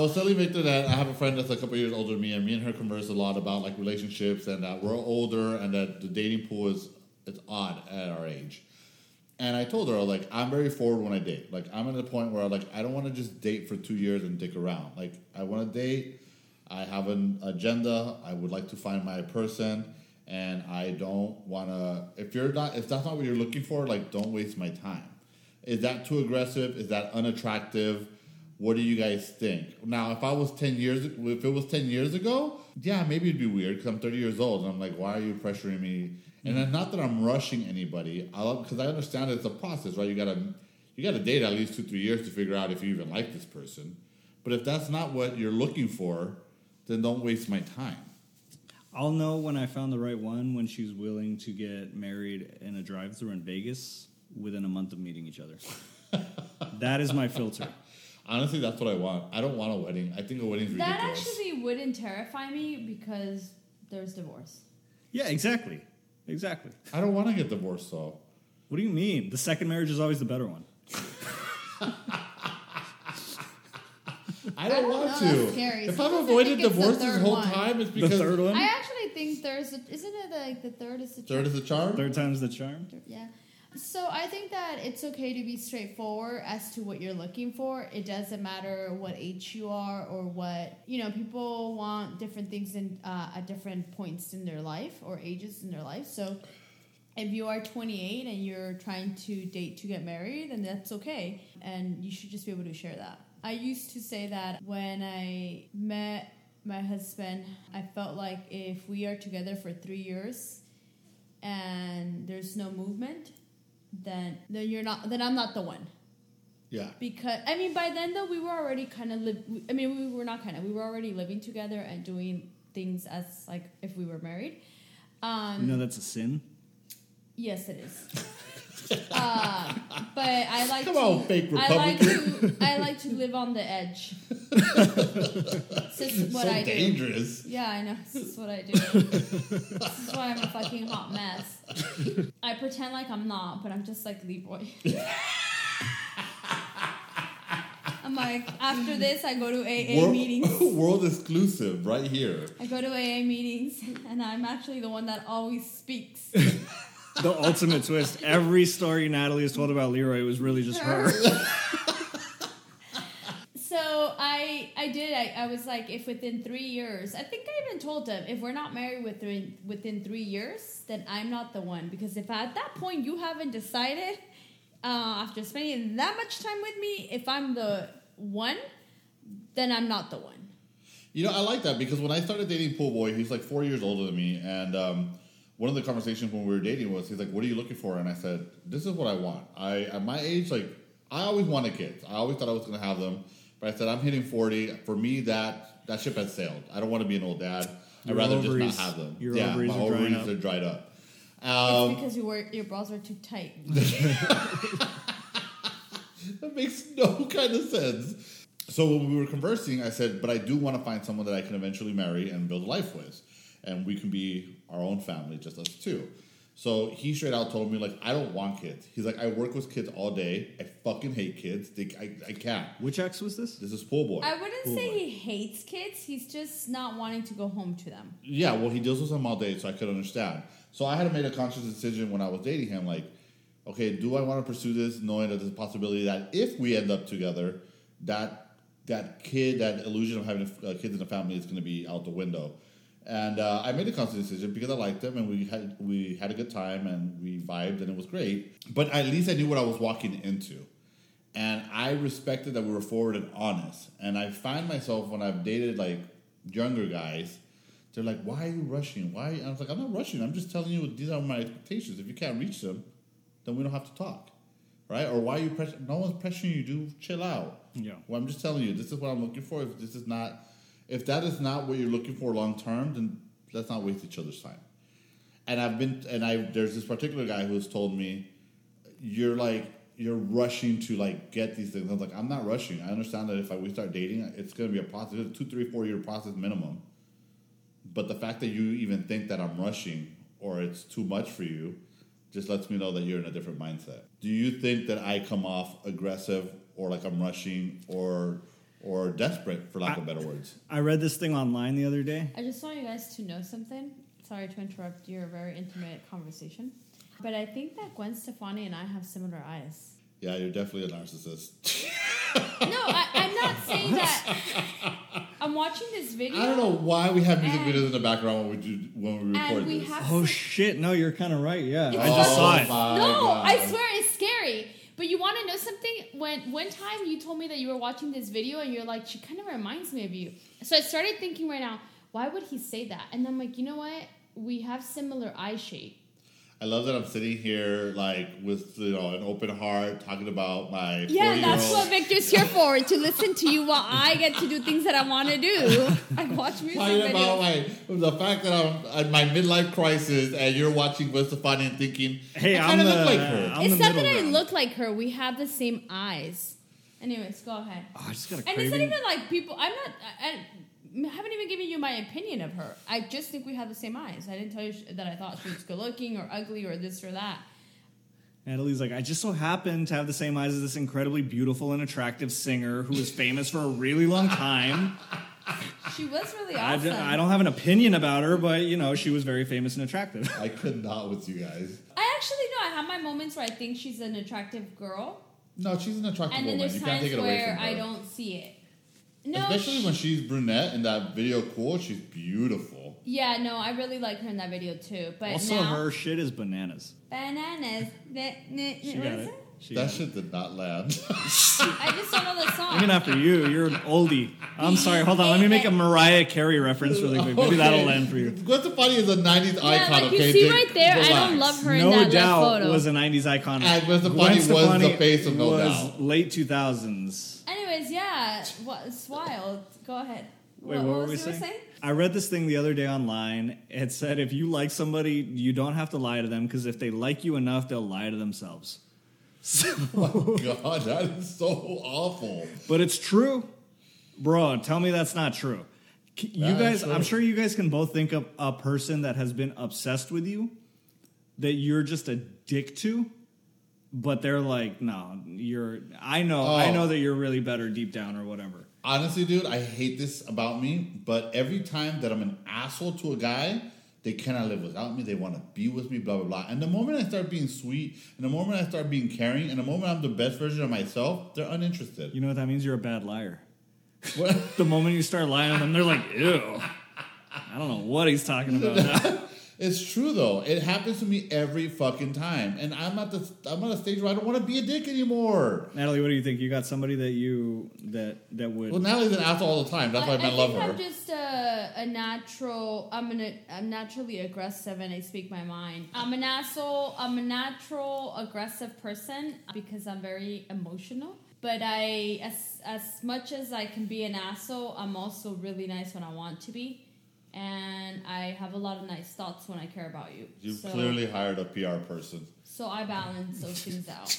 was telling Victor that I have a friend that's a couple years older than me, and her converse a lot about like relationships, and that we're older, and that the dating pool is odd at our age. And I told her, like, I'm very forward when I date. Like, I'm at the point where like I don't want to just date for 2 years and dick around. Like, I want to date. I have an agenda. I would like to find my person, and I don't want to. If that's not what you're looking for, like, don't waste my time. Is that too aggressive? Is that unattractive? What do you guys think? Now, if it was 10 years ago, yeah, maybe it'd be weird because I'm 30 years old and I'm like, why are you pressuring me? And then not that I'm rushing anybody, because I understand it's a process, right? You gotta date at least 2-3 years to figure out if you even like this person. But if that's not what you're looking for, then don't waste my time. I'll know when I found the right one when she's willing to get married in a drive-thru in Vegas within a month of meeting each other. That is my filter. Honestly, that's what I want. I don't want a wedding. I think a wedding's ridiculous. That actually wouldn't terrify me because there's divorce. Yeah, exactly. I don't want to get divorced, though. What do you mean? The second marriage is always the better one. I don't want know, to. that's scary. If I've Sometimes avoided I think it's divorce the this third whole one. time, it's because... The third one? I actually think isn't it like the third is the charm? Third is the charm? Third time's the charm? Yeah. So I think that it's okay to be straightforward as to what you're looking for. It doesn't matter what age you are or what, people want different things at different points in their life or ages in their life. So if you are 28 and you're trying to date to get married, then that's okay. And you should just be able to share that. I used to say that when I met my husband, I felt like if we are together for 3 years and there's no movement, then I'm not the one. Yeah. Because by then though we were already we were already living together and doing things as like if we were married. That's a sin. Yes, it is. But I like Come on, fake Republican. I like to live on the edge. This is what I do. So dangerous. Yeah, I know. This is what I do. This is why I'm a fucking hot mess. I pretend like I'm not, but I'm just like Leroy. I'm like, after this, I go to AA meetings. World exclusive, right here. I go to AA meetings, and I'm actually the one that always speaks. The ultimate twist. Every story Natalie has told about Leroy was really just her. So I did. I was like, if within 3 years, I think I even told him, if we're not married within 3 years, then I'm not the one. Because if at that point you haven't decided, after spending that much time with me, if I'm the one, then I'm not the one. I like that because when I started dating Pool Boy, he's like 4 years older than me, and one of the conversations when we were dating was, he's like, what are you looking for? And I said, this is what I want. At my age, like, I always wanted kids. I always thought I was going to have them. But I said, I'm hitting 40. For me, that ship has sailed. I don't want to be an old dad. I'd rather just not have them. Your ovaries my are ovaries are dried up. It's because your bras are too tight. That makes no kind of sense. So when we were conversing, I said, but I do want to find someone that I can eventually marry and build a life with. And we can be our own family, just us two. So he straight out told me, like, I don't want kids. He's like, I work with kids all day. I fucking hate kids. I can't. Which ex was this? This is Pool Boy. I wouldn't say he hates kids. He's just not wanting to go home to them. Yeah, well, he deals with them all day, so I could understand. So I had to make a conscious decision when I was dating him, like, okay, do I want to pursue this, knowing that there's a possibility that if we end up together, that illusion of having kids in a family is going to be out the window. And I made a conscious decision because I liked them, and we had a good time, and we vibed, and it was great. But at least I knew what I was walking into. And I respected that we were forward and honest. And I find myself, when I've dated, like, younger guys, they're like, why are you rushing? Why? And I was like, I'm not rushing. I'm just telling you these are my expectations. If you can't reach them, then we don't have to talk. Right? Or why are you pressuring? No one's pressuring you. Do chill out. Yeah. Well, I'm just telling you, this is what I'm looking for. If that is not what you're looking for long term, then let's not waste each other's time. And there's this particular guy who's told me, you're rushing to like get these things. I was like, I'm not rushing. I understand that if we start dating, it's going to be a process, 2, 3, 4 year process minimum. But the fact that you even think that I'm rushing or it's too much for you just lets me know that you're in a different mindset. Do you think that I come off aggressive or like I'm rushing or or desperate, for lack of better words. I read this thing online the other day. I just want you guys to know something. Sorry to interrupt your very intimate conversation. But I think that Gwen Stefani and I have similar eyes. Yeah, you're definitely a narcissist. No, I'm not saying that. I'm watching this video. I don't know why we have music videos in the background when we record this. Oh shit! No, you're kind of right. Yeah, It's I just saw it. No, I swear it's scary. But you want to know something? When one time you told me that you were watching this video and you're like, she kind of reminds me of you. So I started thinking right now, why would he say that? And I'm like, you know what? We have similar eye shape. I love that I'm sitting here like with an open heart talking about my 40-year-old. Yeah, that's what Victor's here for, to listen to you while I get to do things that I want to do. I watch music talking videos. about the fact that I'm at my midlife crisis and you're watching Gwen Stefani and thinking, Hey, I kind of look like her. It's not that I look like her. We have the same eyes. Anyways, go ahead. Oh, I just got a And craving. it's not even like people. I haven't even given you my opinion of her. I just think we have the same eyes. I didn't tell you that I thought she was good looking or ugly or this or that. Natalie's like, I just so happen to have the same eyes as this incredibly beautiful and attractive singer who was famous for a really long time. She was really awesome. I don't have an opinion about her, but, she was very famous and attractive. I could not with you guys. I actually know. I have my moments where I think she's an attractive girl. No, she's an attractive And then woman. there's You can't take times it away where from her. I don't see it. No, Especially when she's brunette in that video. Cool, she's beautiful. Yeah, no, I really like her in that video too. But Also, now, her shit is bananas. bananas. She What got is it. She That got it. shit did not land. I just don't know the song. Even after you, you're an oldie. I'm sorry, hold on. Let me make a Mariah Carey reference really quick. Maybe that'll land for you. Gwen Stefani is a 90s Yeah, icon, like okay? you see Dick, right there, I don't relax. love her in No that left doubt photo. was a 90s icon. And Gwen Stefani was the face of No was Doubt. late 2000s. Anyways, yeah, it's wild. Go ahead. Wait, what were we you saying? I read this thing the other day online. It said if you like somebody, you don't have to lie to them because if they like you enough, they'll lie to themselves. God, that is so awful. But it's true. Bro, tell me that's not true. You That guys, is true. I'm sure you guys can both think of a person that has been obsessed with you that you're just a dick to, but they're like, no, I know that you're really better deep down or whatever. Honestly, dude, I hate this about me, but every time that I'm an asshole to a guy, they cannot live without me. They want to be with me, blah, blah, blah. And the moment I start being sweet, and the moment I start being caring, and the moment I'm the best version of myself, they're uninterested. You know what that means? You're a bad liar. What? The moment you start lying to them, they're like, ew. I don't know what he's talking about now. It's true, though. It happens to me every fucking time. And I'm at a stage where I don't want to be a dick anymore. Natalie, what do you think? You got somebody that would... Well, Natalie's an asshole all the time. That's why I love her. I'm just a natural. I'm naturally aggressive, and I speak my mind. I'm an asshole. I'm a natural aggressive person because I'm very emotional. But as much as I can be an asshole, I'm also really nice when I want to be. And I have a lot of nice thoughts when I care about you. You've clearly hired a PR person. So I balance those things out.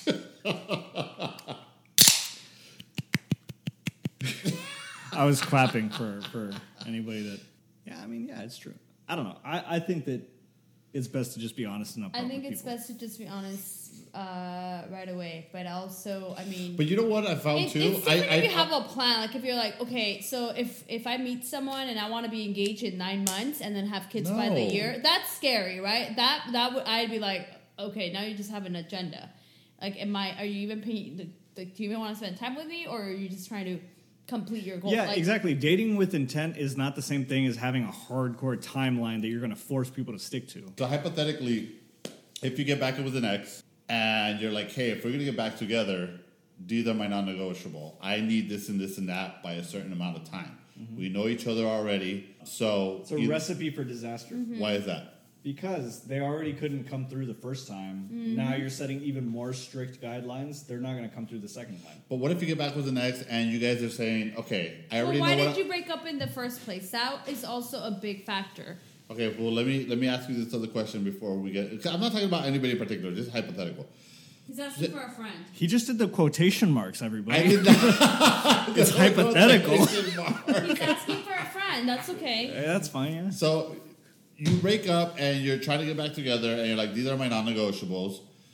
I was clapping for anybody that... Yeah, it's true. I don't know. I think that it's best to just be honest and upfront I think with it's people. best to just be honest right away. But also, But you know what I found too? It's different if you have a plan. Like if you're like, okay, so if I meet someone and I want to be engaged in 9 months and then have kids by the No. year, that's scary, right? That would I'd be like, okay, now you just have an agenda. Like, are you even paying? Do you even want to spend time with me, or are you just trying to complete your goal? Yeah, Like, exactly. Dating with intent is not the same thing as having a hardcore timeline that you're going to force people to stick to. So hypothetically, if you get back with an ex and you're like, hey, if we're going to get back together, these are my non-negotiable. I need this and this and that by a certain amount of time. Mm-hmm. We know each other already. So It's a recipe for disaster. why is that? Because they already couldn't come through the first time. Now you're setting even more strict guidelines. They're not going to come through the second time. But what if you get back with an ex and you guys are saying, okay, I already why know did what you break up in the first place? That is also a big factor. Okay, well, let me ask you this other question before we get... 'cause I'm not talking about anybody in particular, just hypothetical. He's asking for a friend. He just did the quotation marks, everybody. I did not... It's hypothetical. He's asking for a friend. That's okay. Hey, that's fine, yeah. So you break up and you're trying to get back together and you're like, these are my non-negotiables.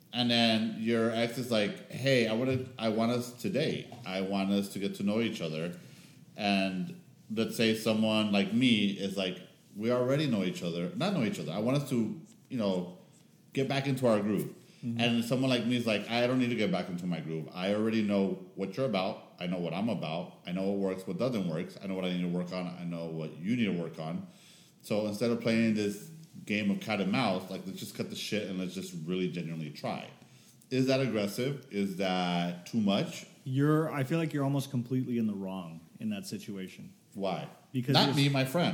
and then your ex is like, "Hey, I want us to date. I want us to get to know each other." And let's say someone like me is like, "We already know each other. Not know each other. I want us to, get back into our groove." Mm-hmm. And someone like me is like, "I don't need to get back into my groove. I already know what you're about. I know what I'm about. I know what works, what doesn't work. I know what I need to work on. I know what you need to work on. So instead of playing this game of cat and mouse, like, let's just cut the shit and let's just really genuinely try." Is that aggressive? Is that too much? I feel like you're almost completely in the wrong in that situation. Why? Because not me, my friend.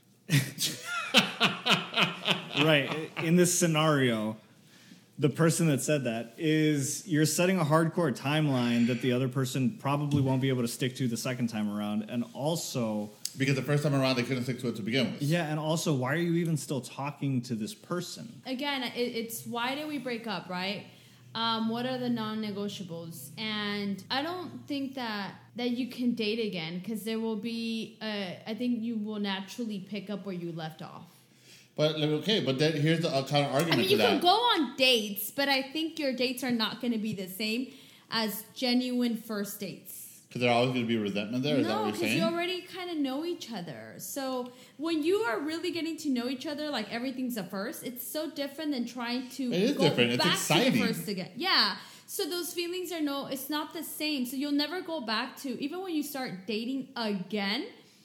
Right. In this scenario, the person that said that is you're setting a hardcore timeline that the other person probably won't be able to stick to the second time around. And also, because the first time around they couldn't stick to it to begin with. Yeah, and also, why are you even still talking to this person? Again, it's why did we break up, right? What are the non-negotiables? And I don't think that you can date again, because there will be, I think you will naturally pick up where you left off. But then here's the kind of argument. I mean, you can go on dates, but I think your dates are not going to be the same as genuine first dates. Because there's always going to be resentment there? Is that what you're saying? No, because you already kind of know each other. So when you are really getting to know each other, like everything's a first, it's so different than trying to go back to the first again. Yeah. So those feelings it's not the same. So you'll never go back to, even when you start dating again,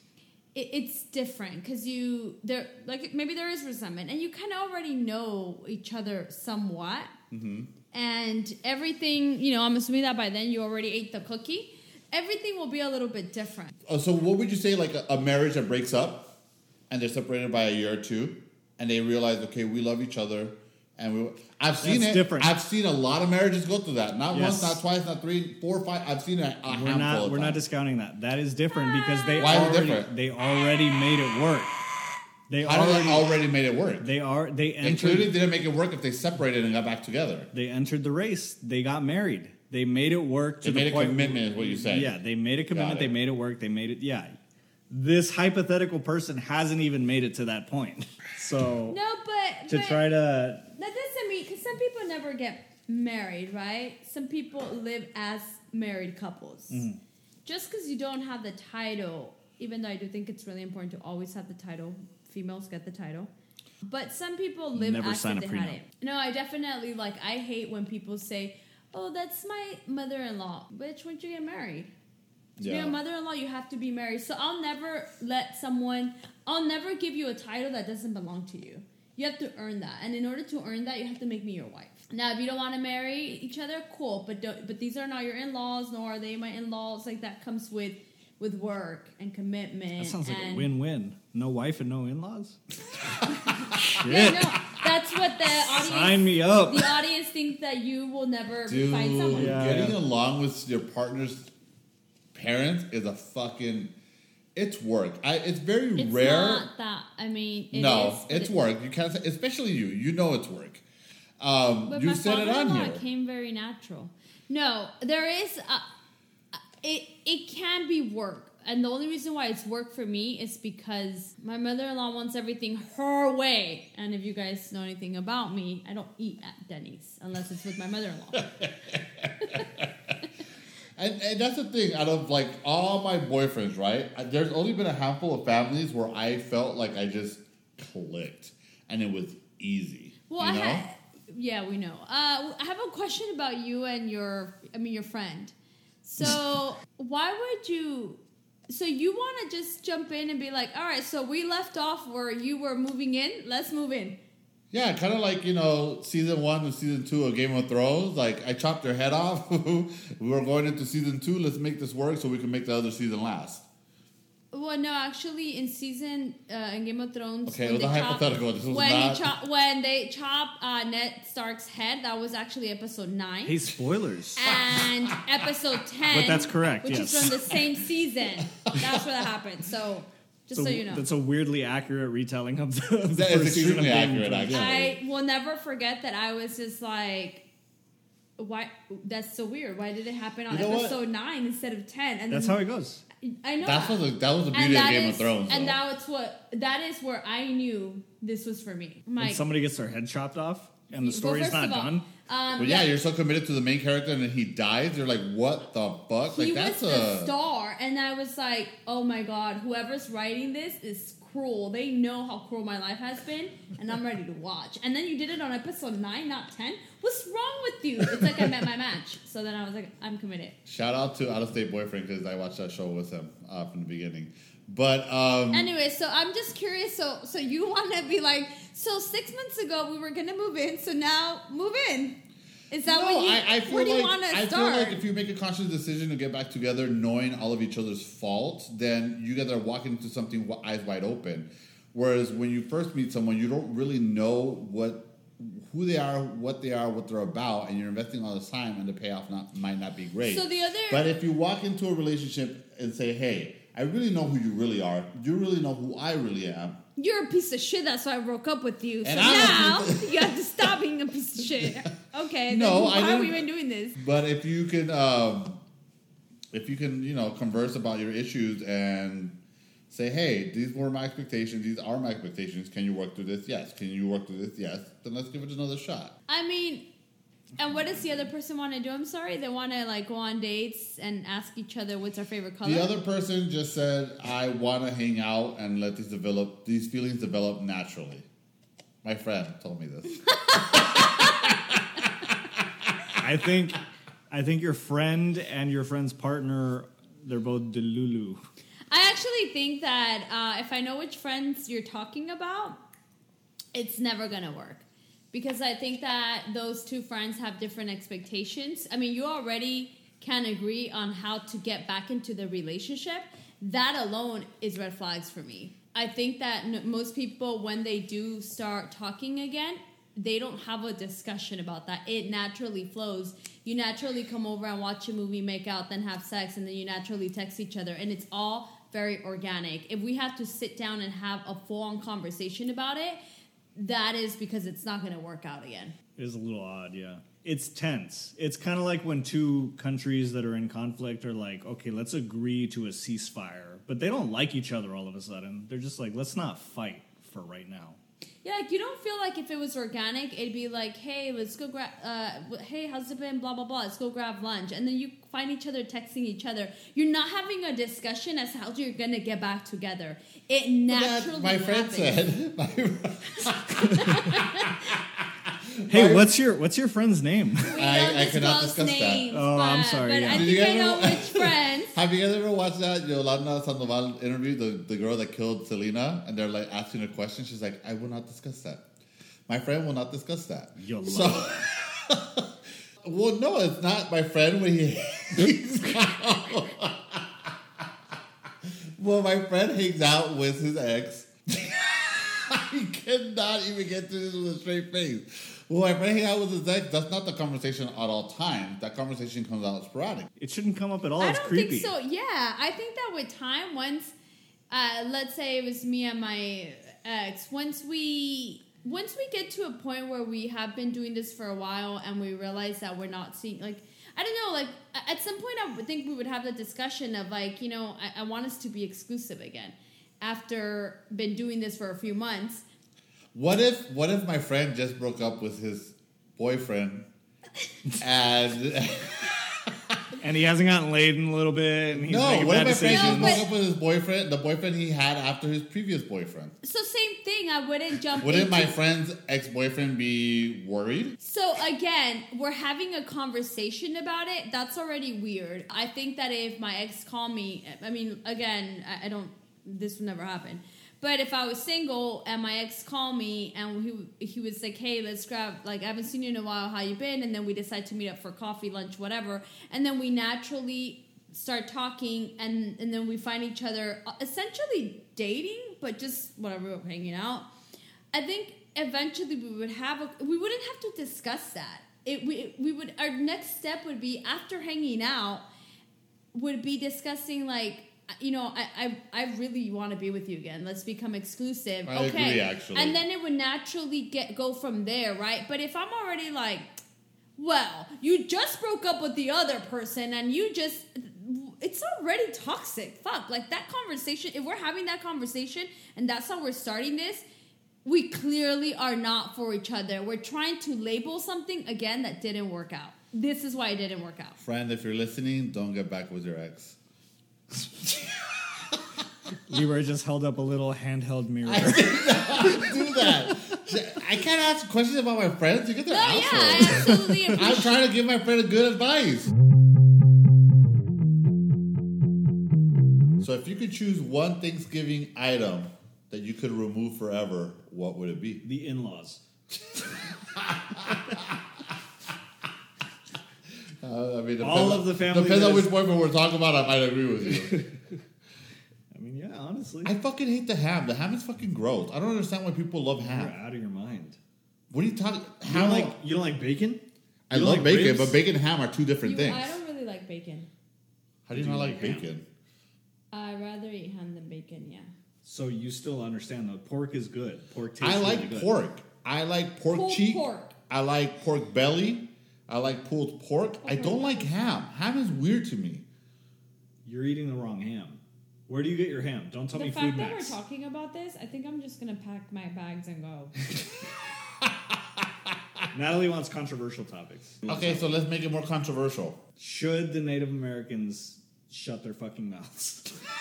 it's different because maybe there is resentment and you kind of already know each other somewhat. Mm-hmm. And everything, I'm assuming that by then you already ate the cookie. Everything will be a little bit different. So what would you say, like a marriage that breaks up and they're separated by a year or two and they realize, okay, we love each other, and I've seen it. Different. I've seen a lot of marriages go through that. Not once, not twice, not 3, 4, 5. I've seen it a handful of We're not discounting that. That is different because they already made it work. They already made it work. They clearly didn't make it work if they separated and got back together. They entered the race. They got married. They made it work to the point. They made a commitment, is what you said. Yeah, they made a commitment. They made it work. They made it. Yeah. This hypothetical person hasn't even made it to that point. So no, but try to. That doesn't mean, because some people never get married, right? Some people live as married couples. Mm-hmm. Just because you don't have the title, even though I do think it's really important to always have the title. Females get the title. But some people live as if they had it. No, I definitely, I hate when people say, "Oh, that's my mother-in-law." Bitch, when'd you get married? To be a mother-in-law, you have to be married. So I'll never give you a title that doesn't belong to you. You have to earn that. And in order to earn that, you have to make me your wife. Now, if you don't want to marry each other, cool. But these are not your in-laws, nor are they my in-laws. Like, that comes with work and commitment. That sounds like a win-win. No wife and no in-laws? Shit. Yeah, no, that's what the audience... Sign me up. The audience thinks that you will never find someone. Getting along with your partner's parents is a fucking... It's work. It's very rare. It's not that. I mean, it's work. You can't say... Especially you. You know it's work. But you said it on here. It came very natural. No, there is... It can be work. And the only reason why it's work for me is because my mother-in-law wants everything her way. And if you guys know anything about me, I don't eat at Denny's unless it's with my mother-in-law. and that's the thing. Out of all my boyfriends, right? There's only been a handful of families where I felt like I just clicked. And it was easy. Well, you know? Yeah, we know. I have a question about you and your friend. So why would you... So you want to just jump in and be like, all right, so we left off where you were moving in. Let's move in. Yeah, kind of like, season 1 and season 2 of Game of Thrones. Like, I chopped your head off. We were going into season 2. Let's make this work so we can make the other season last. Well, no, actually, in Game of Thrones... Okay, it was a hypothetical. When they chop Ned Stark's head, that was actually episode 9. Hey, spoilers. And episode 10... But that's correct, which is from the same season. That's where that happened. So, so you know. That's a weirdly accurate retelling of the That is extremely accurate, actually. I will never forget that I was just like... Why? That's so weird. Why did it happen on episode 9 instead of 10? And that's how it goes. I know that was the beauty of Game of Thrones. And that is where I knew this was for me. When somebody gets their head chopped off and the story's not done. But yeah, you're so committed to the main character, and then he dies. You're like, what the fuck? He like that's was the star, and I was like, oh my god, whoever's writing this is cruel. They know how cruel my life has been, and I'm ready to watch. And then you did it on episode 9, not 10. What's wrong with you? It's like I met my match. So then I was like, I'm committed. Shout out to Out of State Boyfriend because I watched that show with him from the beginning. But anyway, so I'm just curious. So you want to be like, so 6 months ago we were gonna move in, so now move in. Is that what you? I feel where do you like, want to start? I feel like if you make a conscious decision to get back together, knowing all of each other's faults, then you guys are walking into something eyes wide open. Whereas when you first meet someone, you don't really know who they are, what they're about, and you're investing all this time, and the payoff might not be great. So but if you walk into a relationship and say, "Hey, I really know who you really are. You really know who I really am." You're a piece of shit. That's why I broke up with you. So And now you have to stop being a piece of shit. Okay. No, then I why are we didn't- even doing this? But if you can, converse about your issues and say, "Hey, these were my expectations. These are my expectations. Can you work through this? Yes. Can you work through this? Yes." Then let's give it another shot. I mean, and what does the other person want to do? I'm sorry. They want to like go on dates and ask each other what's our favorite color. The other person just said, "I want to hang out and let these feelings develop naturally." My friend told me this. I think your friend and your friend's partner, they're both delulu. I actually think that if I know which friends you're talking about, it's never going to work. Because I think that those two friends have different expectations. I mean, you already can agree on how to get back into the relationship. That alone is red flags for me. I think that most people, when they do start talking again, they don't have a discussion about that. It naturally flows. You naturally come over and watch a movie, make out, then have sex, and then you naturally text each other. And it's all very organic. If we have to sit down and have a full-on conversation about it, that is because it's not going to work out again. It is a little odd, yeah. It's tense. It's kind of like when two countries that are in conflict are like, okay, let's agree to a ceasefire. But they don't like each other all of a sudden. They're just like, let's not fight for right now. Yeah, like you don't feel like if it was organic, it'd be like, hey, let's go grab, hey, how's it been, blah, blah, blah, let's go grab lunch. And then you find each other texting each other. You're not having a discussion as to how you're going to get back together. It naturally My friend happens. said. Hey, what's your friend's name? We I don't cannot disclose discuss that. names, Oh, I'm sorry, But yeah. I Did think you I know ever- which friends. Have you guys ever watched that Yolanda Sandoval interview, the girl that killed Selena, and they're like asking her question? She's like, "I will not discuss that. My friend will not discuss that." Yolanda. So, well, no, it's not my friend when he's out. Well, my friend hangs out with his ex. He cannot even get through this with a straight face. Well, my friend hangs out with his ex. That's not the conversation at all times. That conversation comes out sporadic. It shouldn't come up at all. I It's don't creepy. think so. Yeah, I think that with time, once, let's say it was me and my ex, once we get to a point where we have been doing this for a while and we realize that we're not seeing, like, I don't know, like, at some point I would think we would have the discussion of, like, you know, I want us to be exclusive again after been doing this for a few months. What if my friend just broke up with his boyfriend and And he hasn't gotten laid in a little bit, and he's no? making What if bad my friend decisions. just broke up with his boyfriend, the boyfriend he had after his previous boyfriend? So same thing, I wouldn't jump Wouldn't into... my friend's ex-boyfriend be worried? So again, we're having a conversation about it. That's already weird. I think that if my ex called me, I mean, again, I don't, this would never happen. But if I was single and my ex called me and he was like, hey, let's grab, like, I haven't seen you in a while, how you been? And then we decide to meet up for coffee, lunch, whatever. And then we naturally start talking and then we find each other essentially dating, but just whatever, hanging out. I think eventually we wouldn't have to discuss that. Our next step would be, after hanging out, would be discussing, like, you know, I really want to be with you again. Let's become exclusive. I agree, actually. And then it would naturally go from there, right? But if I'm already like, well, you just broke up with the other person and it's already toxic. Fuck, like that conversation, if we're having that conversation and that's how we're starting this, we clearly are not for each other. We're trying to label something, again, that didn't work out. This is why it didn't work out. Friend, if you're listening, don't get back with your ex. Leroy just held up a little handheld mirror. I did not do that. I can't ask questions about my friends. You get their assholes. Yeah, I absolutely appreciate I'm trying to give my friend a good advice. So if you could choose one Thanksgiving item that you could remove forever, what would it be? The in-laws. I mean, All of the family depends on is- which boyfriend we're talking about. I might agree with you. I mean, yeah, honestly. I fucking hate the ham. The ham is fucking gross. I don't understand why people love You're ham. out of your mind. What are you talking? You don't like bacon? I You don't love like bacon, ribs? but bacon and ham are two different things. I don't really like bacon. How do you not like bacon? I'd rather eat ham than bacon, yeah. So you still understand that pork is good. Pork tastes I like really good. pork. I like pork Pulled cheek. pork. I like pork belly. I like pulled pork. I don't like ham. Ham is weird to me. You're eating the wrong ham. Where do you get your ham? Don't tell The me fact Food that Max. we're talking about this, I think I'm just going to pack my bags and go. Natalie wants controversial topics. Okay, so let's make it more controversial. Should the Native Americans shut their fucking mouths?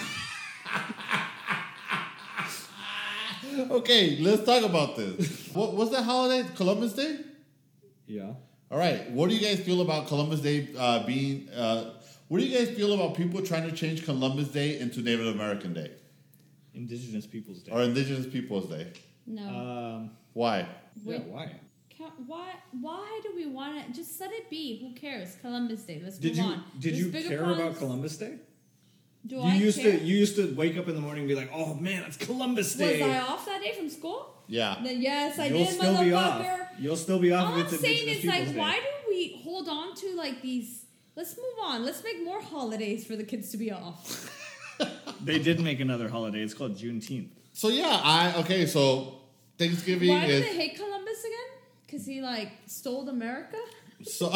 Okay, let's talk about this. What's that holiday? Columbus Day? Yeah. All right. What do you guys feel about Columbus Day being... what do you guys feel about people trying to change Columbus Day into Native American Day? Indigenous Peoples Day. Or Indigenous Peoples Day? No. Why? Yeah, why? Why do we want to just let it be? Who cares? Columbus Day. Let's Did move you on. did There's you bigger care problems. about Columbus Day? Do You I used care? to wake up in the morning and be like, "Oh man, it's Columbus Day." Was I off that day from school? Yeah. Then yes, I You'll did, still be off. motherfucker. You'll still be off All if I'm it's saying Indigenous is like, Peoples Day. why do we hold on to like these? Let's move on. Let's make more holidays for the kids to be off. They did make another holiday. It's called Juneteenth. So yeah, so Thanksgiving Why do is... they hate Columbus again? Because he like stole America. So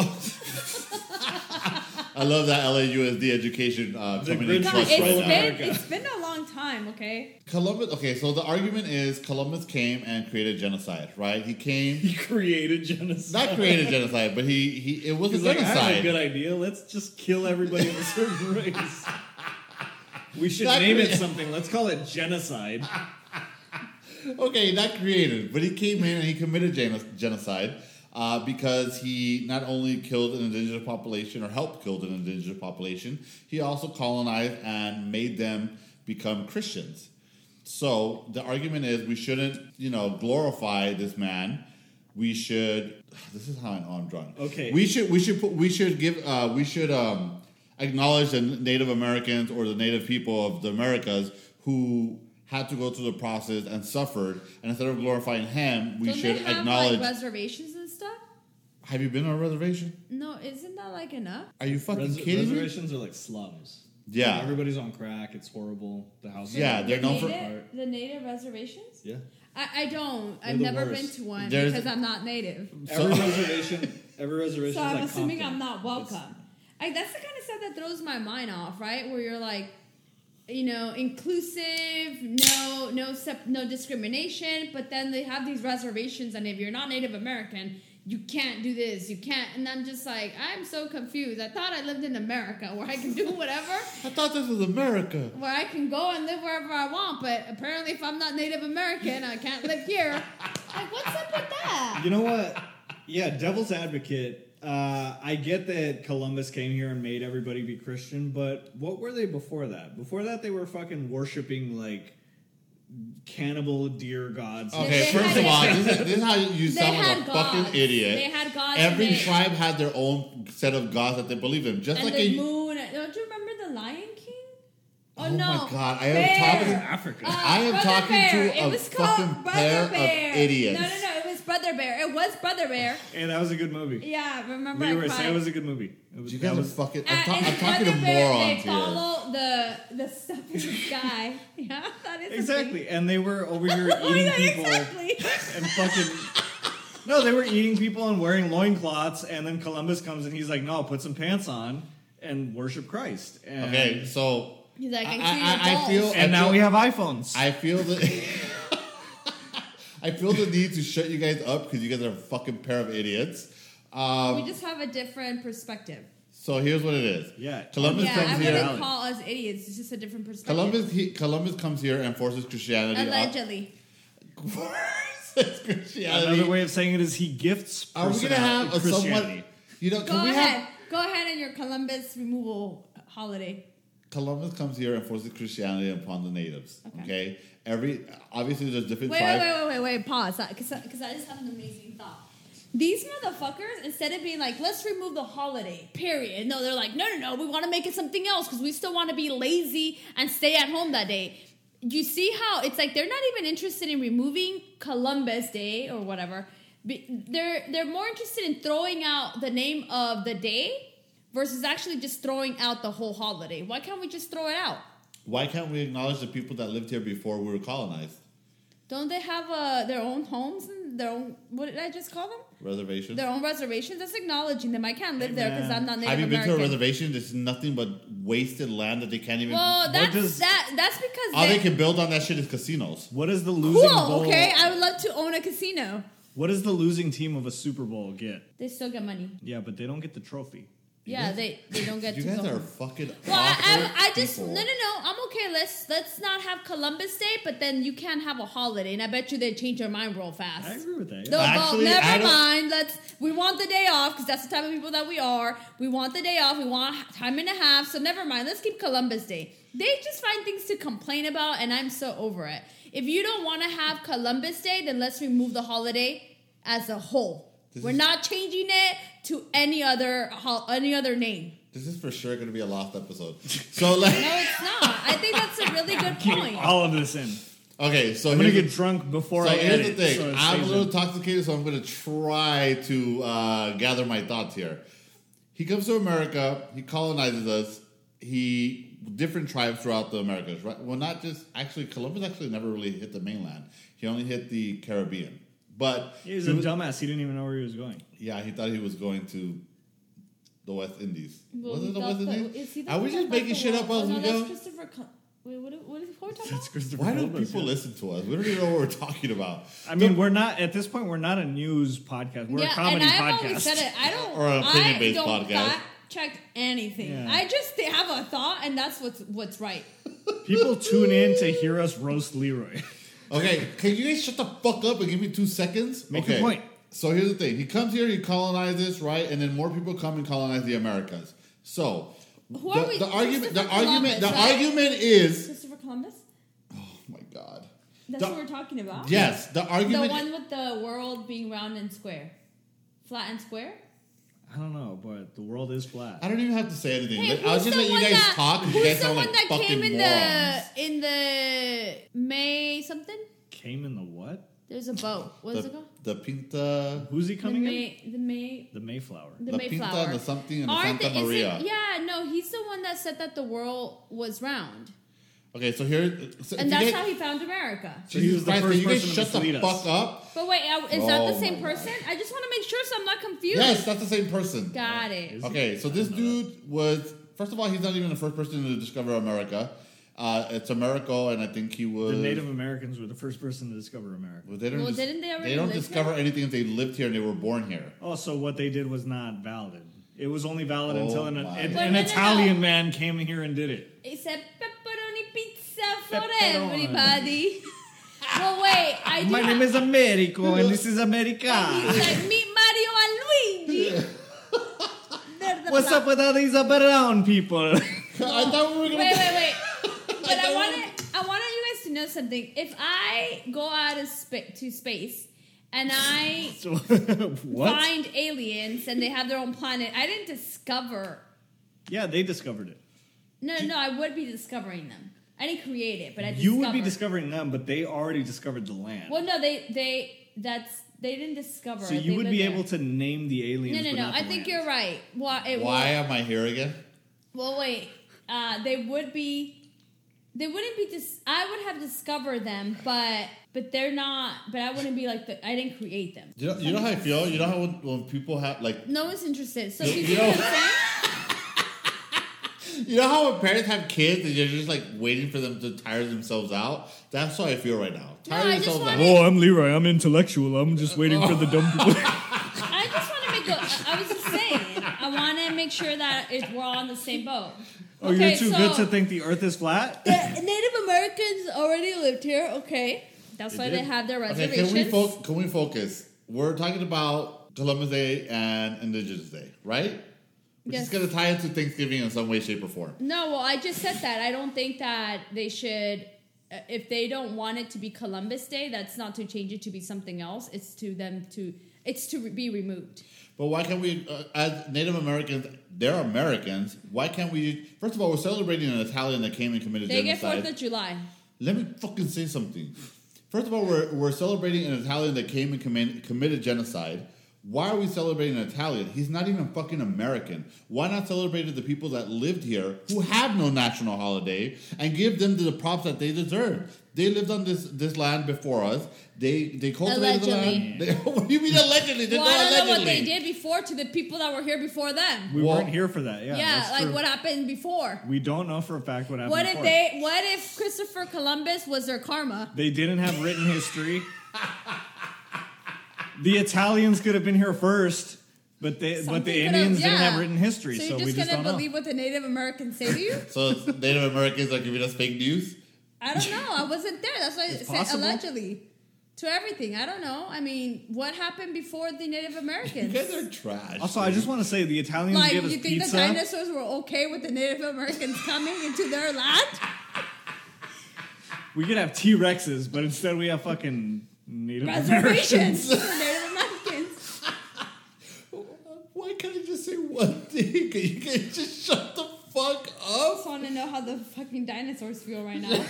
I love that LAUSD education coming in Grinch clutch was right so now. America. It's been a long time, okay? Columbus. Okay, so the argument is Columbus came and created genocide, right? He came, He created genocide. not created genocide, but he it was He's a like, I have a genocide. good idea. Let's just kill everybody of a certain race. We should Not name it crea- something. Let's call it genocide. Okay, not created, but he came in and he committed genocide because he not only killed an indigenous population or helped kill an indigenous population, he also colonized and made them become Christians. So the argument is we shouldn't, glorify this man. We should. This is how I know I'm drunk. Okay. We should acknowledge the Native Americans or the Native people of the Americas who had to go through the process and suffered. And instead of glorifying him, we Don't should they have acknowledge. like reservations and stuff? Have you been on a reservation? No, isn't that like enough? Are you fucking kidding me? Reservations are like slums. Yeah. Everybody's on crack. It's horrible. The house. Yeah, they're known for. The native reservations? Yeah. I don't. They're I've the never been worst. to one There's- because I'm not native. Every reservation. So I'm is like assuming Compton. I'm not welcome. It's- That's the kind of stuff that throws my mind off, right? Where you're like, inclusive, no discrimination, but then they have these reservations, and if you're not Native American, you can't do this, you can't. And I'm just like, I'm so confused. I thought I lived in America where I can do whatever, I thought this was America. where I can go and live wherever I want, but apparently if I'm not Native American, I can't live here. Like, what's up with that? You know what? Yeah, devil's advocate. I get that Columbus came here and made everybody be Christian, but what were they before that? Before that, they were fucking worshiping like cannibal deer gods. Okay, They first had- of all, this is how you They sound like had a gods. fucking idiot. They had gods. Every and they- tribe had their own set of gods that they believe in. Just and like the a. moon. Don't you remember the Lion King? Oh, Oh no! my God, I am Bear. talking- Africa. I am Brother talking Bear. to It a was called fucking Brother pair of Bear. idiots. No, it was Brother Bear. It was Brother Bear. And that was a good movie. Yeah, remember Leroy, I say cried. it was a good movie. It was, You that guys are was, fucking. And I'm talking to Brother Bear, morons they here. follow the stuff in the sky. Yeah, that is exactly. And they were over here Oh, eating yeah, people exactly. and fucking. No, they were eating people and wearing loincloths, and then Columbus comes and he's like, "No, put some pants on and worship Christ." And, Okay, so He's like, I feel. And now we have iPhones. I feel that. I feel the need to shut you guys up because you guys are a fucking pair of idiots. We just have a different perspective. So here's what it is. Yeah. Columbus Yeah, comes I here. wouldn't call us idiots. It's just a different perspective. Columbus comes here and forces Christianity. Allegedly. Forces Christianity. Another way of saying it is he gifts. Are we gonna have a somewhat? You know, Go ahead. Go ahead on your Columbus removal holiday. Columbus comes here and forces Christianity upon the natives. Okay. Obviously there's different Wait, tribes. wait. Pause. Because I just have an amazing thought. These motherfuckers, instead of being like, let's remove the holiday, period. No, they're like, no, we want to make it something else because we still want to be lazy and stay at home that day. You see how it's like they're not even interested in removing Columbus Day or whatever. They're more interested in throwing out the name of the day versus actually just throwing out the whole holiday. Why can't we just throw it out? Why can't we acknowledge the people that lived here before we were colonized? Don't they have their own homes and their own, what did I just call them? Reservations. Their own reservations. That's acknowledging them. I can't live there because I'm not Native Have you been American. to a reservation? There's nothing but wasted land that they can't even. Well, that's because all they can build on that shit is casinos. What is the losing cool. bowl? Okay, I would love to own a casino. What does the losing team of a Super Bowl get? They still get money. Yeah, but they don't get the trophy. Yeah, they don't get You to guys go. are fucking. Well, I just people. no. I'm okay. Let's not have Columbus Day, but then you can't have a holiday, and I bet you they change their mind real fast. I agree with that. They'll Yeah. go, Actually, I never don't- mind. We want the day off because that's the type of people that we are. We want the day off. We want time and a half. So never mind. Let's keep Columbus Day. They just find things to complain about, and I'm so over it. If you don't want to have Columbus Day, then let's remove the holiday as a whole. We're not changing it to any other name. This is for sure going to be a lost episode. So like, No, it's not. I think that's a really good point. All of this in. okay, so I'm gonna here's get drunk before so I here's edit. the thing. so it I'm a stays little in. intoxicated, so I'm going to try to gather my thoughts here. He comes to America. He colonizes us. Different tribes throughout the Americas, right? Well, not just actually. Columbus actually never really hit the mainland. He only hit the Caribbean. But He was a dumbass. He didn't even know where he was going. yeah, he thought he was going to the West Indies. Well, Was it the he West thought Indies? is he the Are we one just that making thought shit the up world- as we no, go? that's Christopher. Wait, what are we talking That's about? Christopher Why do Columbus, people yeah. listen to us? We don't even know what we're talking about. I mean, we're not at this point. We're not a news podcast. We're a comedy and I've podcast. always said it. I don't. Or an opinion-based I don't podcast. fact check anything. Yeah. I just have a thought, and that's what's right. People tune in to hear us roast Leroy. Okay, can you guys shut the fuck up and give me 2 seconds? Make okay. your point. So here's the thing. He comes here, he colonizes, right? And then more people come and colonize the Americas. So Who are we? the argument Christopher Columbus, right? argument is Christopher Columbus. oh my god. That's The- what we're talking about. Yes, the The argument one with the world being round and square, flat and square. I don't know, but the world is flat. I don't even have to say anything. Hey, I was just letting you guys talk because you guys Who's the sound one like that fucking came in morons. the May something? Came in the what? There's a boat. What is it called? The Pinta, Who's he coming in? The May. The Mayflower. The La Mayflower. Pinta, and the something, and the Aren't Santa they- is it- Maria. yeah, no, he's the one that said that the world was round. Okay, so here, so And if that's you how guys, he found America. So he was Jesus the Christ, first can you guys person to shut the mislead us. fuck up? But wait, is that the Oh same my person? I just want to make sure so I'm not confused. Yes, that's the same person. Got it. Okay, so this dude was first of all, he's not even the first person to discover America. It's Americo, and I think he was The Native Americans were the first person to discover America. Well, they don't Well, dis- didn't they already don't live discover here? anything if they lived here and they were born here. Oh, so what they did was not valid. It was only valid Oh until an my But no, no, Italian no. man came here and did it. It said pepperoni pizza for Pepperoni. everybody. Well, wait, I do My name is Americo, and this is And America. he's like, meet Mario and Luigi. They're the What's black- up with all these brown people? I thought we were gonna. Wait. But I wanted you guys to know something. If I go out of to space and I So, what? find aliens and they have their own planet, I didn't discover. Yeah, they discovered it. No, I would be discovering them. I didn't create it, but I You discovered. would be discovering them, but they already discovered the land. Well, no, they didn't discover. So it. you They would lived be there. able to name the aliens. No. but not I the think land. you're right. Why am I here again? Well, wait. They would be. They wouldn't be. I would have discovered them, but they're not. But I wouldn't be like I didn't create them. You know how I feel. You know how when people have like No one's interested. So You you see know- what I'm saying? You know how when parents have kids and you're just like waiting for them to tire themselves out? That's how I feel right now. Tire I just yourselves out. wanted- Oh, I'm Leroy. I'm intellectual. I'm just waiting for the dumb people. I just want to make I was just saying. I want to make sure that we're all on the same boat. Oh, you're too good to think the Earth is flat? The Native Americans already lived here. Okay, that's why they have their Okay, reservations. can we focus? We're talking about Columbus Day and Indigenous Day, right? We're Yes. just going to tie into Thanksgiving in some way, shape, or form. No, well, I just said that. I don't think that they should. If they don't want it to be Columbus Day, that's not to change it to be something else. It's to them to. It's to be removed. But why can't we, as Native Americans, they're Americans, why can't we, first of all, we're celebrating an Italian that came and committed They get genocide. 4th of July. Let me fucking say something. First of all, we're celebrating an Italian that came and committed genocide. Why are we celebrating an Italian? He's not even fucking American. Why not celebrate the people that lived here who have no national holiday and give them the props that they deserve? They lived on this land before us. They cultivated Allegedly. the land. What do you mean allegedly? Well, I don't know what they allegedly. did before to the people that were here before them. We Well- weren't here for that. Yeah, Yeah, that's like true. what happened before. We don't know for a fact what happened What if before. What if Christopher Columbus was their karma? They didn't have written history. The Italians could have been here first, but the Something could've- Indians didn't yeah. have written history, So so you're we just just gonna don't believe know. what the Native Americans say to you? So it's Native Americans are giving us fake news? I don't know. I wasn't there. That's why I It's said possible. allegedly. To everything. I don't know. I mean, what happened before the Native You Americans? guys are trash. Also, I just want to say the Italians Like, gave us you think pizza. the dinosaurs were okay with the Native Americans coming into their land? We could have T-Rexes, but instead we have fucking Native Reservations Americans. for Native Americans. Why can't I just say one thing? Can you guys just shut the fuck I up? just want to know how the fucking dinosaurs feel right now.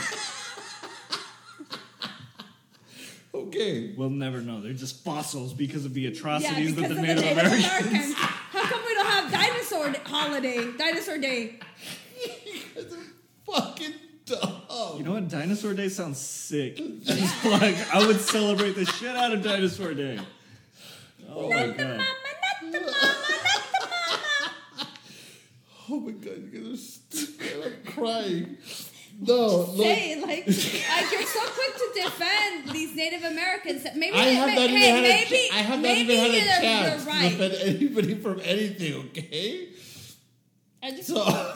Okay. We'll never know. They're just fossils because of the Yeah, atrocities because that of the the Native Native Americans. Americans. How come we don't have Dinosaur Day? You guys are fucking dumb. You know what? Dinosaur Day sounds sick. Just like I would celebrate the shit out of Dinosaur Day. Oh my god. Oh my god, you guys are stupid. I'm crying. No, look. Say like you're so quick to defend these Native Americans. Maybe I have not even had maybe, I have not maybe even had a you're chance right. to defend anybody from anything, okay? I just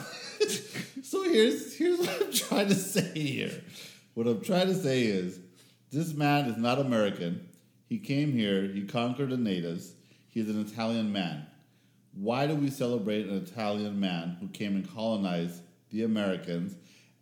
So here's what I'm trying to say here. What I'm trying to say is this man is not American. He came here, he conquered the natives. He's an Italian man. Why do we celebrate an Italian man who came and colonized the Americans?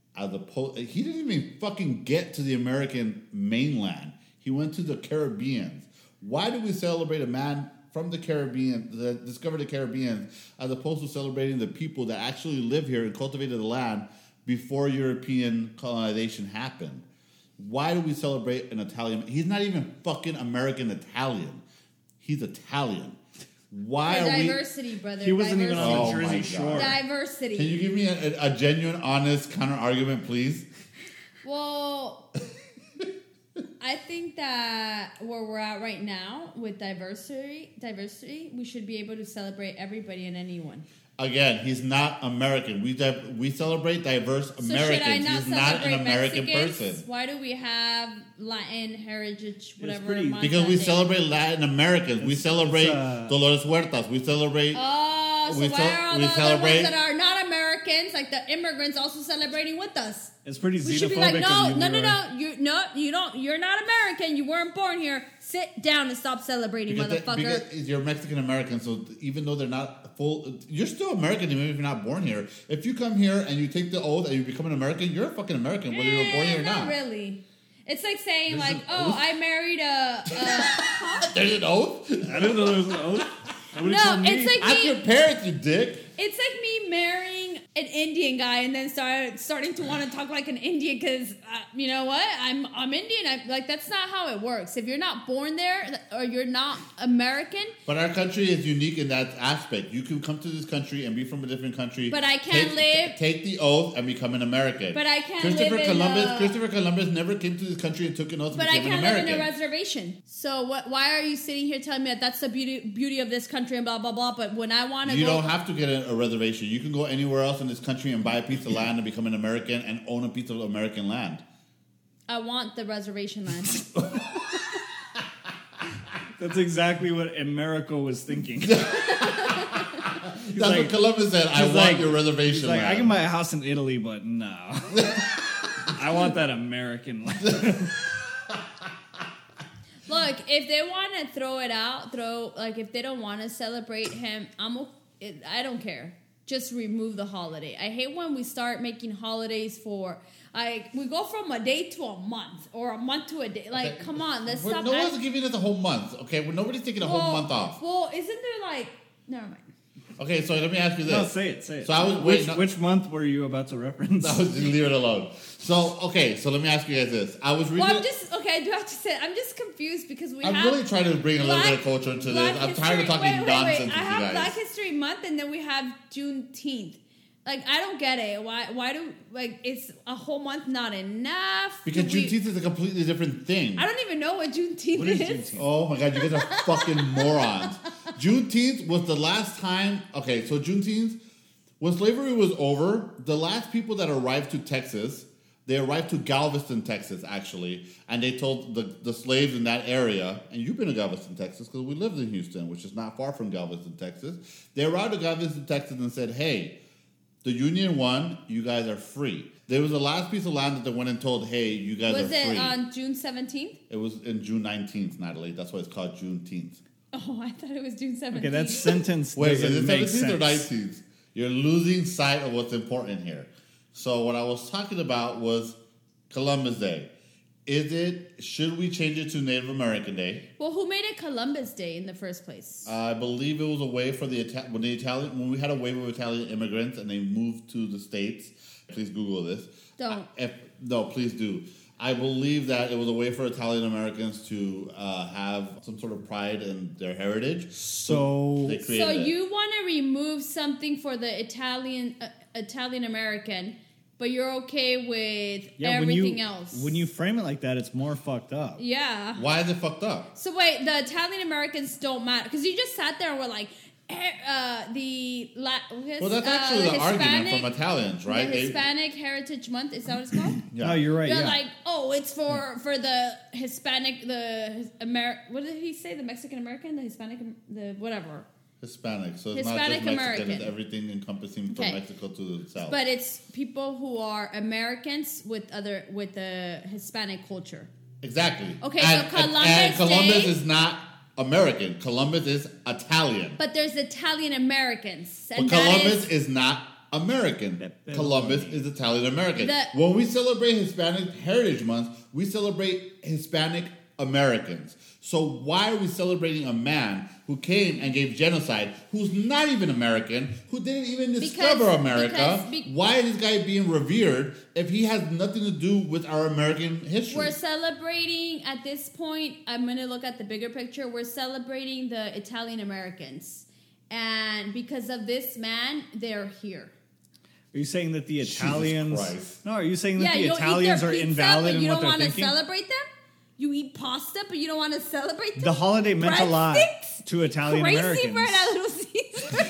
He didn't even fucking get to the American mainland. He went to the Caribbean. Why do we celebrate a man from the Caribbean that discovered the Caribbean as opposed to celebrating the people that actually live here and cultivated the land before European colonization happened? Why do we celebrate an Italian? He's not even fucking American Italian. He's Italian. Why are we? diversity, brother. He wasn't even on Oh the my Jersey God. Shore. Diversity. Can you give me a genuine, honest counter argument, please? Well, I think that where we're at right now with diversity, we should be able to celebrate everybody and anyone. Again, he's not American. We celebrate diverse So should Americans. I not He's not celebrate an American Mexicans? person. Why do we have Latin heritage, whatever? pretty- month Because that we day? celebrate Latin Americans. We celebrate Dolores Huertas. We celebrate. Oh, so we why ce- are all we the other celebrate- ones that are not Americans, like the immigrants, also celebrating with us? It's pretty We should be xenophobic. like, of you, Leroy. you don't, you're not American. You weren't born here. Sit down and stop celebrating, motherfucker. Because you're Mexican American, so even though they're not full, you're still American even if you're not born here. If you come here and you take the oath and you become an American, you're a fucking American, whether you were born here or Not not. really. It's like saying, There's like, an oh, oath? I married a There's an oath? I didn't know there was an oath. Nobody No, told me. it's like Ask your me. parents, you dick. It's like me marrying an Indian guy and then starting to want to talk like an Indian because you know what? I'm Indian. Like that's not how it works. If you're not born there or you're not American, But our country is unique in that aspect. You can come to this country and be from a different country. But I can't take the oath and become an American. But I can't Christopher live in Columbus. a- Christopher Columbus never came to this country and took an oath and but I became can't an live American. in a reservation. So what? Why are you sitting here telling me that that's the beauty of this country and blah blah blah? But when I want to You go, don't have to get a reservation. You can go anywhere else in in this country and buy a piece of land and become an American and own a piece of American land? I want the reservation land. That's exactly what Americo was thinking. That's what Columbus said. I want your reservation land. I can buy a house in Italy, but no. I want that American land. Look, if they want to throw it out, if they don't want to celebrate him, I don't care. Just remove the holiday. I hate when we start making holidays for, we go from a day to a month or a month to a day. Like, okay. Come on, let's stop. No one's giving us a whole month, okay? Well, nobody's taking a whole month off. Well, isn't there never mind. Okay, so let me ask you this. No, say it. So I was which month were you about to reference? I was just leave it alone. So let me ask you guys this. I was reading. Well, I do have to say, I'm just confused because I'm really trying to bring a little bit of culture into this. I'm tired of talking nonsense with you guys. I have Black History Month and then we have Juneteenth. Like, I don't get it. Why do, it's a whole month not enough? Because Juneteenth is a completely different thing. I don't even know what Juneteenth is. Juneteenth? Oh my God, you guys are fucking morons. Juneteenth was the last time, okay, so Juneteenth, when slavery was over, the last people that arrived to Texas, they arrived to Galveston, Texas, actually, and they told the slaves in that area, and you've been to Galveston, Texas, because we lived in Houston, which is not far from Galveston, Texas. They arrived to Galveston, Texas, and said, hey, the Union won, you guys are free. There was the last piece of land that they went and told, hey, you guys are free. Was it on June 17th? It was in June 19th, Natalie. That's why it's called Juneteenth. Oh, I thought it was June 17th. Okay, that sentence Wait, is it 17th sense. or 19th? You're losing sight of what's important here. So what I was talking about was Columbus Day. Should we change it to Native American Day? Well, who made it Columbus Day in the first place? I believe it was a way for when we had a wave of Italian immigrants and they moved to the States. Please Google this. Don't. No, please do. I believe that it was a way for Italian Americans to have some sort of pride in their heritage. So they created it. You want to remove something for the Italian American, but you're okay with everything else. When you frame it like that, it's more fucked up. Yeah. Why is it fucked up? So wait, the Italian Americans don't matter because you just sat there and were like, well, that's actually the argument from Italians, right? The Hispanic Heritage Month, is that what it's called? Yeah. No, you're right. They're like, oh, it's for the Hispanic, what did he say? The Mexican American, the Hispanic, the whatever. Hispanic, so Hispanic it's not just Mexican, American. It's everything encompassing from Mexico to the south. But it's people who are Americans with the Hispanic culture. Exactly. Okay, and, so Columbus and Columbus Day, is not American. Columbus is Italian. But there's Italian Americans. But Columbus is not American. Columbus is Italian American. When we celebrate Hispanic Heritage Month, we celebrate Hispanic Americans. So why are we celebrating a man who came and gave genocide, who's not even American, who didn't even discover America? Why is this guy being revered if he has nothing to do with our American history? We're celebrating, at this point, I'm going to look at the bigger picture, we're celebrating the Italian Americans. And because of this man, they're here. Are you saying that the Italians... Jesus Christ. No, are you saying that the Italians are invalid in what they're thinking? You don't want to celebrate them? You eat pasta, but you don't want to celebrate them? The holiday meant a lot to Italian Americans. Crazy bread at Little Caesars.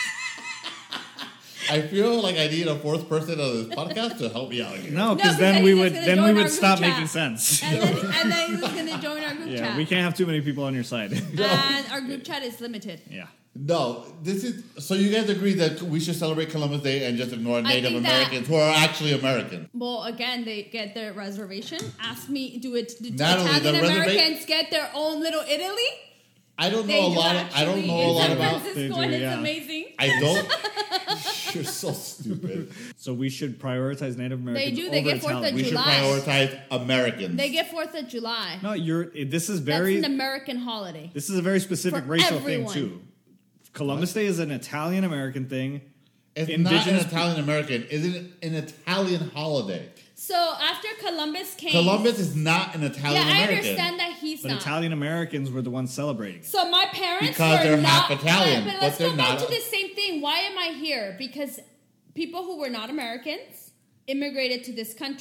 I feel like I need a fourth person on this podcast to help me out here. No, because then we would stop making sense. And then he was going to join our group chat. Yeah, we can't have too many people on your side. And our group chat is limited. Yeah. No, so you guys agree that we should celebrate Columbus Day and just ignore Native Americans who are actually American? Well, again, they get their reservation. Ask me, do Italian Americans get their own little Italy? I don't know a lot about San Francisco, and it's amazing. I don't. You're so stupid. So we should prioritize Native Americans. They do. They get 4th of July. We should prioritize Americans. They get 4th of July. No, this is That's an American holiday. This is a very specific for racial everyone. thing too. Columbus Day is an Italian American thing. It's not an Italian American. It's an Italian holiday. So after Columbus came... Columbus is not an Italian American. Yeah, I understand that he's not. But Italian Americans were the ones celebrating. So my parents because they're not... half Italian. But let's go back to the same thing. Why am I here? Because people who were not Americans immigrated to this country.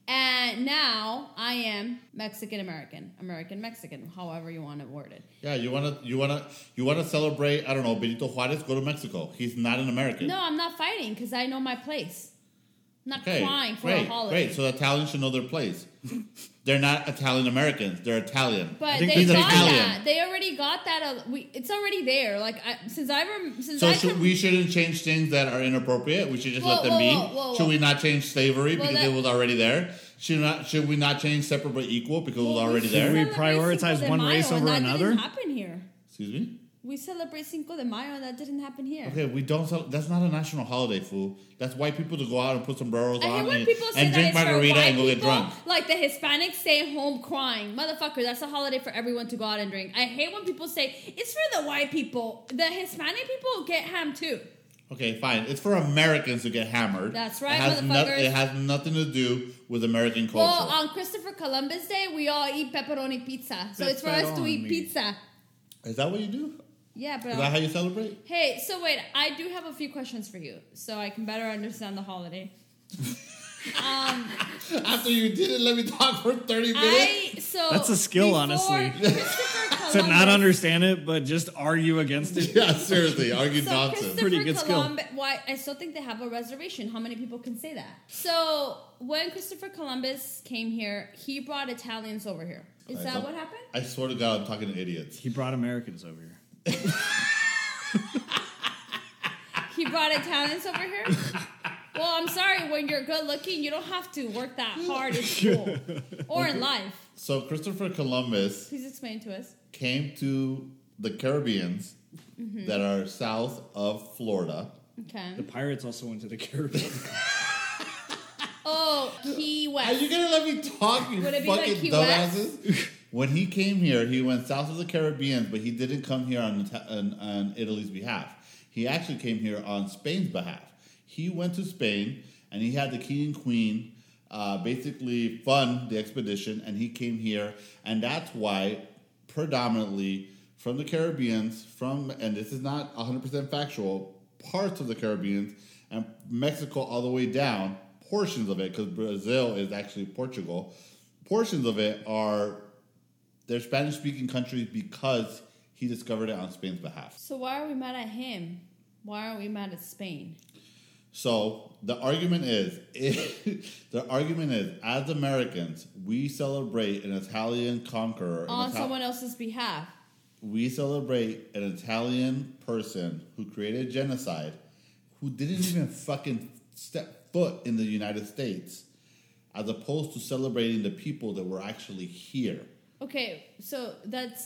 And now I am Mexican-American, American-Mexican, however you want to word it. Yeah, you wanna celebrate, I don't know, Benito Juarez, go to Mexico. He's not an American. No, I'm not fighting because I know my place. I'm not crying for a holiday. Great, so Italians should know their place. They're not Italian Americans, they're Italian. But think they he's got Italian. that. They already got that. It's already there. Like We shouldn't change things that are inappropriate. We should just let them be. Should we not change slavery because it was already there? Should we not change separate but equal because it was already Should there? we prioritize one race over that another? Didn't happen here. Excuse me? We celebrate Cinco de Mayo, and that didn't happen here. Okay, we don't. That's not a national holiday, fool. That's white people to go out and put sombreros I hate on when people say and that drink it's for margarita white and go get people, drunk. like the Hispanics stay home crying. Motherfucker, that's a holiday for everyone to go out and drink. I hate when people say it's for the white people. The Hispanic people get ham too. Okay, fine. It's for Americans to get hammered. That's right, It has nothing to do with American culture. Well, on Christopher Columbus Day, we all eat pepperoni pizza. So it's for us to eat Pepperoni. pizza. Is that what you do? Yeah, but Is that how you celebrate? hey, so wait, I do have a few questions for you, so I can better understand the holiday. After you didn't let me talk for 30 minutes? That's a skill, before honestly. Christopher To not Columbus- understand it, but just argue against it. Yeah, seriously, argue So nonsense. Christopher Pretty good skill. Columbus, why I still think they have a reservation. How many people can say that? So when Christopher Columbus came here, he brought Italians over here. Is that what happened? I swear to God, I'm talking to idiots. He brought Americans over here. He brought Italians over here? Well, I'm sorry, when you're good looking, you don't have to work that hard in school or in life. So Christopher Columbus Please explain to us. came to the Caribbeans Mm-hmm. that are south of Florida. Okay. The pirates also went to the Caribbean. Oh, Key Are West. you gonna let me talk, you Would it be like fucking Key West? dumbasses? When he came here, he went south of the Caribbean, but he didn't come here on Italy's behalf. He actually came here on Spain's behalf. He went to Spain, and he had the king and queen basically fund the expedition, and he came here, and that's why predominantly from the Caribbeans, and this is not 100% factual, parts of the Caribbeans and Mexico all the way down, portions of it, because Brazil is actually Portugal, portions of it they're Spanish-speaking countries because he discovered it on Spain's behalf. So why are we mad at him? Why aren't we mad at Spain? So the argument is, as Americans, we celebrate an Italian conqueror. On someone else's behalf. We celebrate an Italian person who created genocide, who didn't even fucking step foot in the United States, as opposed to celebrating the people that were actually here. Okay, so that's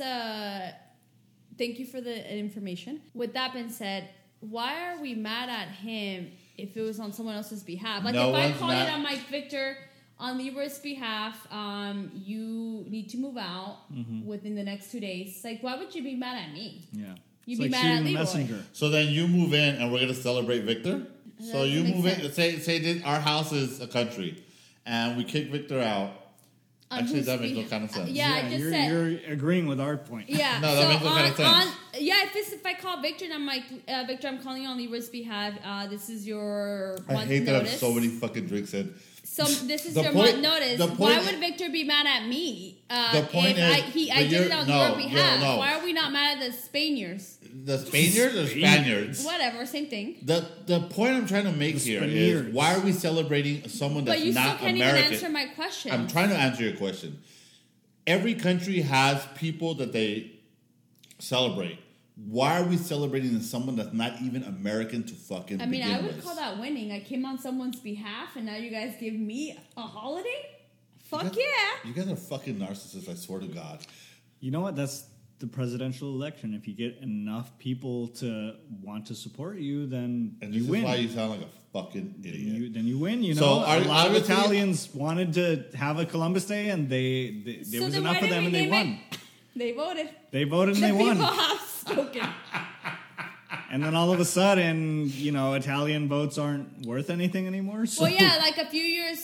thank you for the information. With that being said, why are we mad at him if it was on someone else's behalf? Like No if I one's call mad. it on Mike Victor on Libra's behalf, you need to move out within the next 2 days. Like, why would you be mad at me? Yeah. You'd It's be like mad shooting at the Leroy. messenger. So then you move in, and we're gonna celebrate Victor. So doesn't you make move in. sense. Say that our house is a country, and we kick Victor out. On Actually, whose that makes no behalf? kind of sense. Yeah, I just you're, said. you're agreeing with our point. Yeah. No, that so makes no kind of sense. If I call Victor and I'm like, Victor, I'm calling you on Libra's behalf. This is your I month hate that I have notice. so many fucking drinks in. So this is The your point- month notice. the Why point- would Victor be mad at me? The point if is- I but did you're- it on no, your behalf. no. Why are we not mad at the Spaniards? The Spaniards or Spaniards? Whatever, same thing. The point I'm trying to make The here is Spaniards. why are we celebrating someone that's But you still not can't American? even answer my question. I'm trying to answer your question. Every country has people that they celebrate. Why are we celebrating someone that's not even American to fucking I mean, begin I would with? call that winning. I came on someone's behalf, and now you guys give me a holiday? Fuck You guys- yeah. You guys are fucking narcissists, I swear to God. You know what? That's the presidential election. If you get enough people to want to support you, then And you this win. is why you sound like a fucking idiot. Then you win. You know, So, a lot of obviously- Italians wanted to have a Columbus Day, and there So was then enough why of did them, we and they name won. it? They voted. They voted and The they won. people have spoken. And then all of a sudden, Italian votes aren't worth anything anymore. So Well, yeah, like a few years,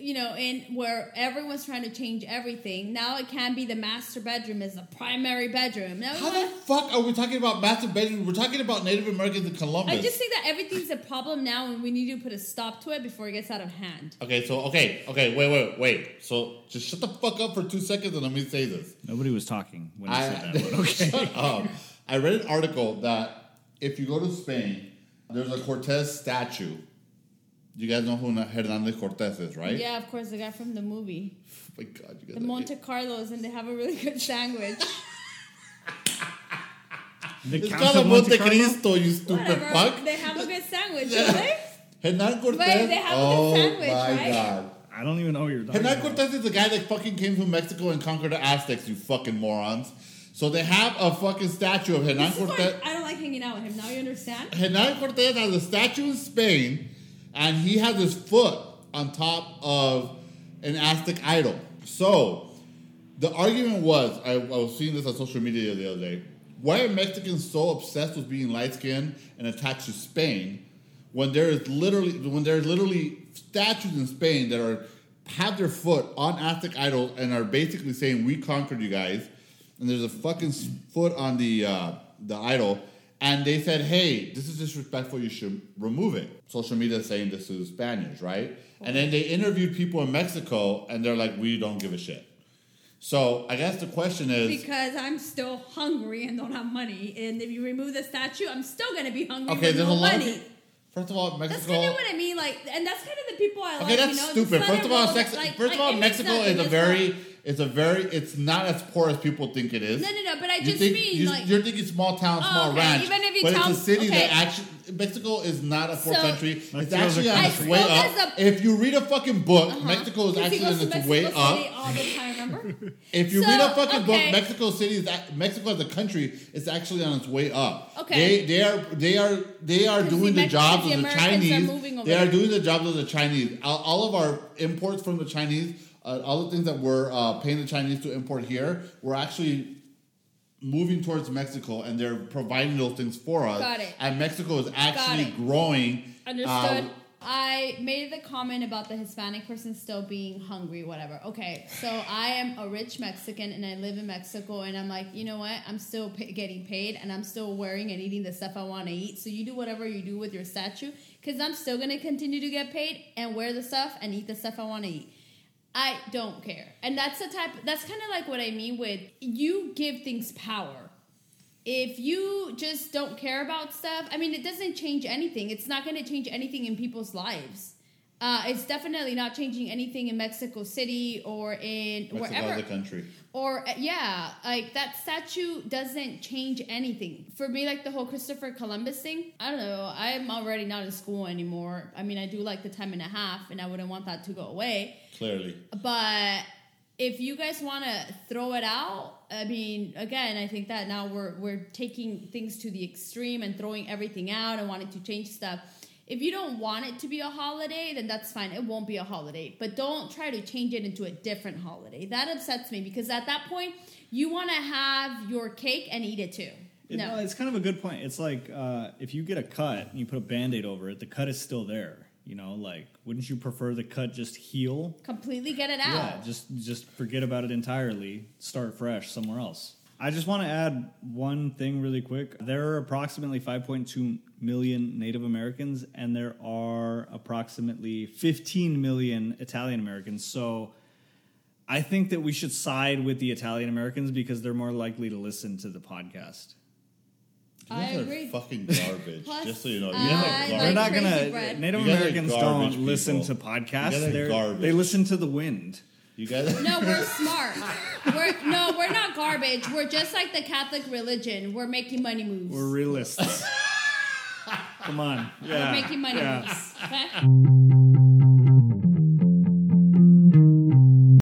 in where everyone's trying to change everything. Now it can be the master bedroom is the primary bedroom. Now How the fuck are we talking about master bedroom? We're talking about Native Americans in Columbus. I just think that everything's a problem now, and we need to put a stop to it before it gets out of hand. Okay, wait. So just shut the fuck up for 2 seconds and let me say this. Nobody was talking when I said that, but okay. Shut up. I read an article that if you go to Spain, there's a Cortez statue. You guys know who Hernandez Cortez is, right? Yeah, of course, the guy from the movie. Oh my God, you guys The Monte Carlos, and they have a really good sandwich. The It's Count called a of Monte Monte Carlo? Cristo, you stupid Whatever. fuck. They have a good sandwich, don't they? Hernan Cortez. Wait, they have a good sandwich, my right? God. I don't even know what you're talking Hernan about. Cortez is the guy that fucking came from Mexico and conquered the Aztecs, you fucking morons. So they have a fucking statue of Hernan This is Cortez. why I don't like hanging out with him. Now you understand? Hernan Cortez has a statue in Spain, and he has his foot on top of an Aztec idol. So the argument was, I was seeing this on social media the other day, why are Mexicans so obsessed with being light-skinned and attached to Spain when there's literally statues in Spain that have their foot on Aztec idols and are basically saying, we conquered you guys, and there's a fucking foot on the idol, and they said, hey, this is disrespectful, you should remove it. Social media is saying this is Spaniards, right? And then they interviewed people in Mexico, and they're like, we don't give a shit. So I guess the question is... Because I'm still hungry and don't have money. And if you remove the statue, I'm still going to be hungry Okay, with there's no a lot money. of people... First of all, Mexico... That's kind of what I mean, like, and that's kind of the people I like. Okay, that's you know, stupid. just let First it of all, roll. Mexico is a very... It's not as poor as people think it is. No, but I You just think, mean, you're thinking small town, small okay, ranch. even if you but tell- it's a city okay. that actually... Mexico is not a poor So- country. It's Mexico's actually a on its country. way Well, up. that's If you read a fucking book, Mexico is Because he actually goes on to its Mexico way City up. all the time, remember? If you So, read a fucking book, okay. Mexico as a country is actually on its way up. Okay. They are doing the the jobs of the Americans are Chinese. moving over They are there. doing the jobs of the Chinese. All of our imports from the Chinese, all the things that we're paying the Chinese to import here, we're actually moving towards Mexico, and they're providing those things for us. Got it. And Mexico is actually it. growing. Understood. I made the comment about the Hispanic person still being hungry, whatever. Okay, so I am a rich Mexican and I live in Mexico, and I'm like, you know what? I'm still getting paid, and I'm still wearing and eating the stuff I want to eat. So you do whatever you do with your statue, because I'm still going to continue to get paid and wear the stuff and eat the stuff I want to eat. I don't care. And that's kind of like what I mean with you give things power. If you just don't care about stuff, I mean, it doesn't change anything. It's not going to change anything in people's lives. It's definitely not changing anything in Mexico City or in Mexico wherever. as a country. Or, like that statue doesn't change anything. For me, like the whole Christopher Columbus thing, I don't know. I'm already not in school anymore. I mean, I do like the time and a half, and I wouldn't want that to go away. Clearly. But if you guys want to throw it out, I mean, again, I think that now we're taking things to the extreme and throwing everything out and wanting to change stuff. If you don't want it to be a holiday, then that's fine. It won't be a holiday. But don't try to change it into a different holiday. That upsets me, because at that point, you want to have your cake and eat it too. No. It's kind of a good point. It's like if you get a cut and you put a Band-Aid over it, the cut is still there. You know, like, wouldn't you prefer the cut just heal? Completely get it out. Yeah, just forget about it entirely. Start fresh somewhere else. I just want to add one thing really quick. There are approximately 5.2 million Native Americans, and there are approximately 15 million Italian Americans. So I think that we should side with the Italian Americans because they're more likely to listen to the podcast. You I guys are agree. fucking garbage. Plus, just so you know. You I guys are like garbage. They're not crazy gonna. bread. Native You guys are Americans garbage don't listen to people. podcasts. You guys are garbage. They listen to the wind. You guys. No, we're smart. We're not garbage. We're just like the Catholic religion. We're making money moves. We're realists. Come on. Yeah. We're making money Yeah. moves. Okay?